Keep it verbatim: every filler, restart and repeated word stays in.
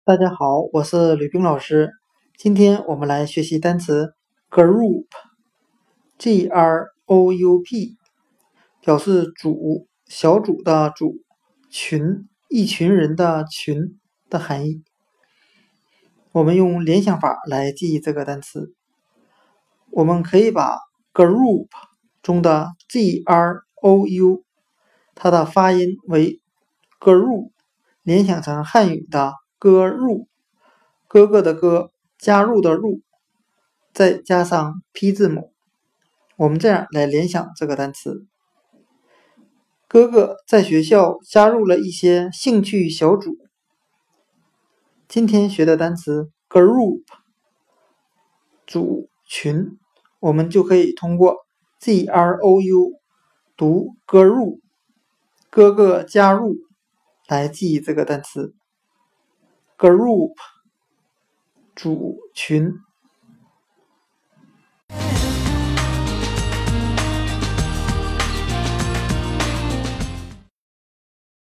大家好，我是吕冰老师。今天我们来学习单词 group，G R O U P， 表示组、小组的组、群、一群人的群的含义。我们用联想法来记忆这个单词。我们可以把 group 中的 G R O U， 它的发音为 group， 联想成汉语的哥入，哥哥的哥，加入的入，再加上 P 字母，我们这样来联想这个单词。哥哥在学校加入了一些兴趣小组。今天学的单词 group， 组群，我们就可以通过 G R O U 读哥入，哥哥加入来记忆这个单词 group， 组群。